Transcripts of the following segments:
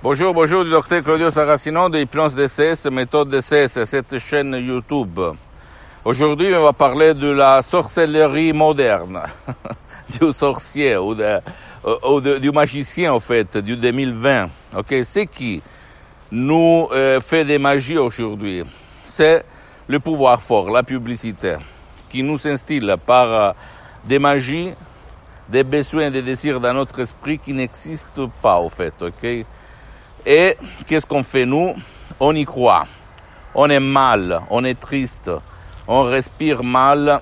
Bonjour, du docteur Claudio Saracino de Hypnose DCS, méthode DCS, cette chaîne YouTube. Aujourd'hui, on va parler de la sorcellerie moderne, du sorcier ou du magicien, en fait, du 2020. Okay? C'est qui nous fait des magies aujourd'hui? C'est le pouvoir fort, la publicité, qui nous instille par des magies, des besoins, des désirs dans notre esprit qui n'existent pas, en fait, ok? Et qu'est-ce qu'on fait nous? On y croit. On est mal, on est triste, on respire mal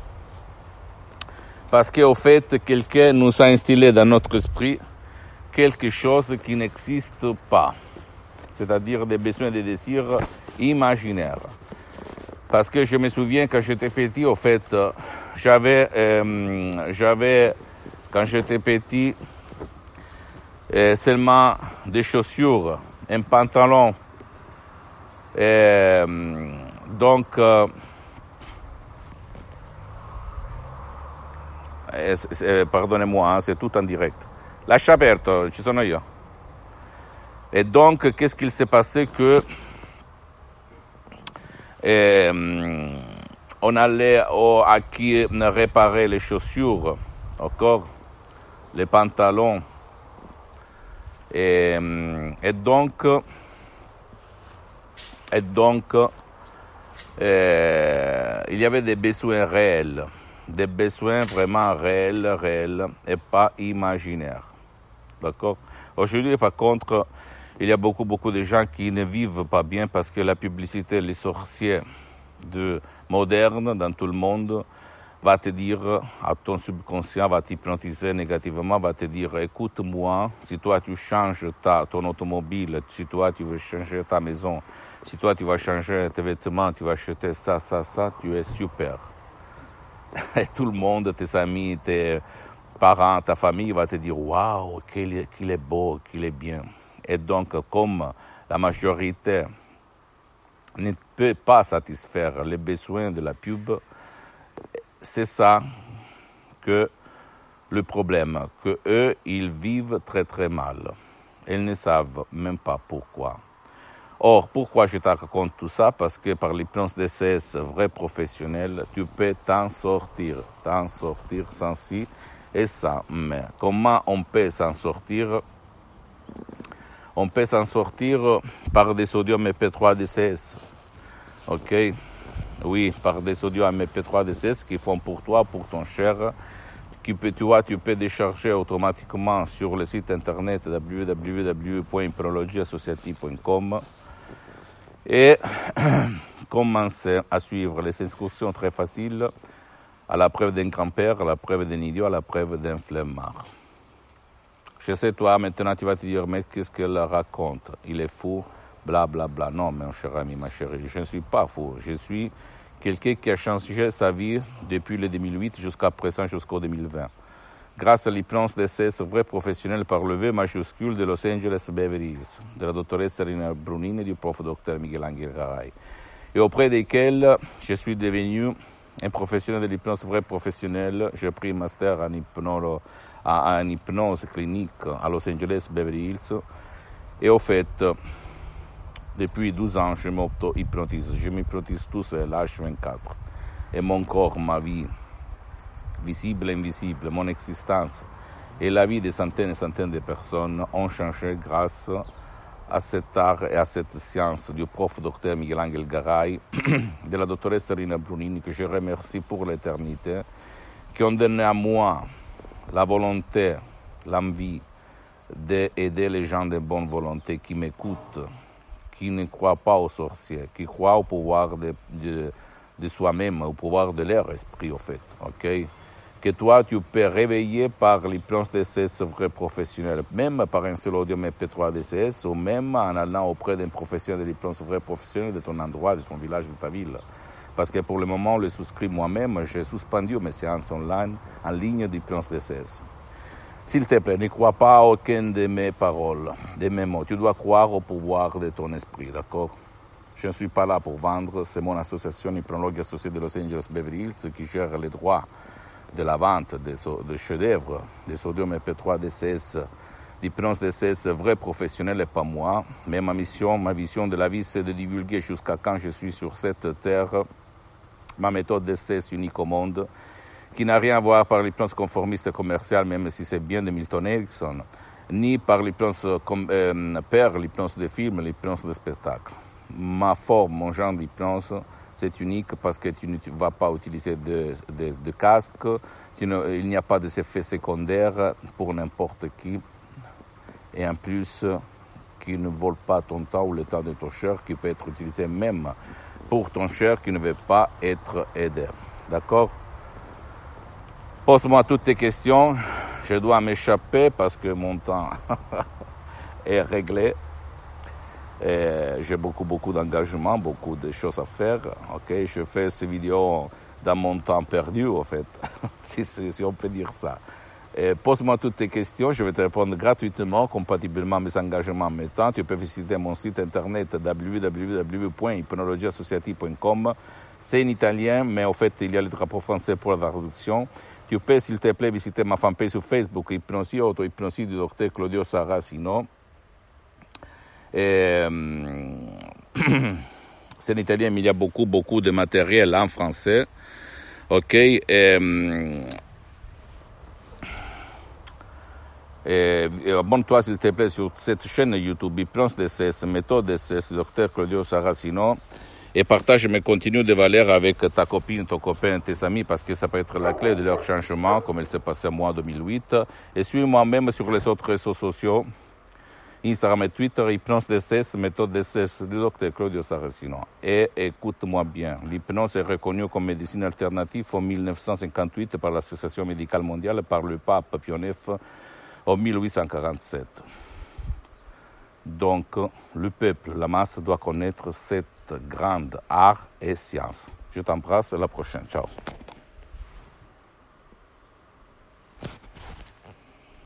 parce qu'au fait, quelqu'un nous a instillé dans notre esprit quelque chose qui n'existe pas, c'est-à-dire des besoins et des désirs imaginaires. Parce que je me souviens quand j'étais petit, au fait, j'avais quand j'étais petit, seulement des chaussures, un pantalon. Donc, pardonnez-moi, c'est tout en direct. Lascia aperto, ci sono io. Et donc, qu'est-ce qu'il s'est passé que on allait à qui réparer les chaussures, encore les pantalons. Et donc, il y avait des besoins réels, des besoins vraiment réels et pas imaginaires. D'accord? Aujourd'hui, par contre, il y a beaucoup de gens qui ne vivent pas bien parce que la publicité, les sorciers modernes dans tout le monde, va te dire, à ton subconscient, va t'hypnotiser négativement, va te dire, écoute-moi, si toi tu changes ton automobile, si toi tu veux changer ta maison, si toi tu vas changer tes vêtements, tu vas acheter ça, tu es super. Et tout le monde, tes amis, tes parents, ta famille va te dire, waouh, qu'il est beau, qu'il est bien. Et donc, comme la majorité ne peut pas satisfaire les besoins de la pub, c'est ça que le problème, que eux, ils vivent très mal. Ils ne savent même pas pourquoi. Or, pourquoi je te raconte tout ça? Parce que par l'hypnose DCS vrai professionnel, tu peux t'en sortir sans ci et ça. Mais comment on peut s'en sortir? On peut s'en sortir par des sodium MP3 DCS. Ok? Oui, par des audios MP3 DCS qui font pour toi, pour ton cher, tu peux décharger automatiquement sur le site internet www.hypnologieassociative.com et commencer à suivre les instructions très faciles à la preuve d'un grand-père, à la preuve d'un idiot, à la preuve d'un flemmard. Je sais, toi, maintenant, tu vas te dire, mais qu'est-ce qu'elle raconte? Il est fou, bla bla bla. Non, mon cher ami, ma chérie, je ne suis pas fou. Je suis quelqu'un qui a changé sa vie depuis le 2008 jusqu'à présent, jusqu'au 2020. Grâce à l'hypnose DCS vrai professionnel par le V majuscule de Los Angeles Beverly Hills, de la doctoressa Rina Brunini et du prof Dr Miguel-Angel Garay, et auprès desquels je suis devenu un professionnel de l'hypnose vrai professionnel. J'ai pris un master en hypnose clinique à Los Angeles Beverly Hills. Et au fait, depuis 12 ans, je m'auto-hypnotise. Je m'hypnotise tout seul, H24. Et mon corps, ma vie, visible et invisible, mon existence et la vie de centaines et centaines de personnes ont changé grâce à cet art et à cette science du prof Dr Miguel-Angel Garay, de la doctoressa Rina Brunini, que je remercie pour l'éternité, qui ont donné à moi la volonté, l'envie d'aider les gens de bonne volonté qui m'écoutent, qui ne croient pas aux sorciers, qui croient au pouvoir de soi-même, au pouvoir de leur esprit, au fait, ok? Que toi, tu peux réveiller par l'hypnose DCS vrai professionnel, même par un seul audio MP3 DCS, ou même en allant auprès d'un professionnel de l'hypnose vrai professionnel de ton endroit, de ton village, de ta ville. Parce que pour le moment, le souscrit moi-même, j'ai suspendu mes séances online en ligne d'hypnose DCS. S'il te plaît, ne crois pas à aucune de mes paroles, de mes mots. Tu dois croire au pouvoir de ton esprit, d'accord? Je ne suis pas là pour vendre. C'est mon association Hypnologue Associée de Los Angeles Beverly Hills qui gère les droits de la vente des chefs-d'œuvre, des sodium MP3 DCS l'hypnose DCS vrai professionnel et pas moi. Mais ma mission, ma vision de la vie, c'est de divulguer jusqu'à quand je suis sur cette terre ma méthode DCS unique au monde, qui n'a rien à voir par l'hypnose conformiste et commerciale, même si c'est bien de Milton Erickson, ni par l'hypnose l'hypnose de film, l'hypnose de spectacle. Ma forme, mon genre d'hypnose, c'est unique parce que tu ne vas pas utiliser de casque, il n'y a pas d'effets secondaires pour n'importe qui, et en plus, qui ne vole pas ton temps ou le temps de ton cher, qui peut être utilisé même pour ton cher qui ne veut pas être aidé. D'accord? Pose-moi toutes tes questions. Je dois m'échapper parce que mon temps est réglé. J'ai beaucoup d'engagement, beaucoup de choses à faire. Okay? Je fais ces vidéos dans mon temps perdu, en fait, si on peut dire ça. Pose-moi toutes tes questions, je vais te répondre gratuitement, compatiblement à mes engagements en mes temps. Tu peux visiter mon site internet www.hypnologieassociative.com. C'est en italien, mais en fait, il y a le drapeau français pour la traduction. Tu peux, s'il te plaît, visiter ma fanpage sur Facebook, Hypnosie Auto-Hypnosie du docteur Claudio Saracino. C'est en italien, mais il y a beaucoup de matériel en français. Ok? Abonne-toi s'il te plaît sur cette chaîne YouTube Hypnose DCS, méthode DCS, Dr Claudio Saracino, et partage mes contenus de valeur avec ta copine, ton copain, tes amis, parce que ça peut être la clé de leur changement, comme il s'est passé moi en 2008. Et suis-moi même sur les autres réseaux sociaux, Instagram et Twitter, Hypnose DCS, méthode DCS du Dr Claudio Saracino. Et écoute-moi bien, l'hypnose est reconnue comme médecine alternative en 1958 par l'Association médicale mondiale, par le pape Pie IX, en 1847. Donc, le peuple, la masse, doit connaître cette grande art et science. Je t'embrasse, à la prochaine. Ciao.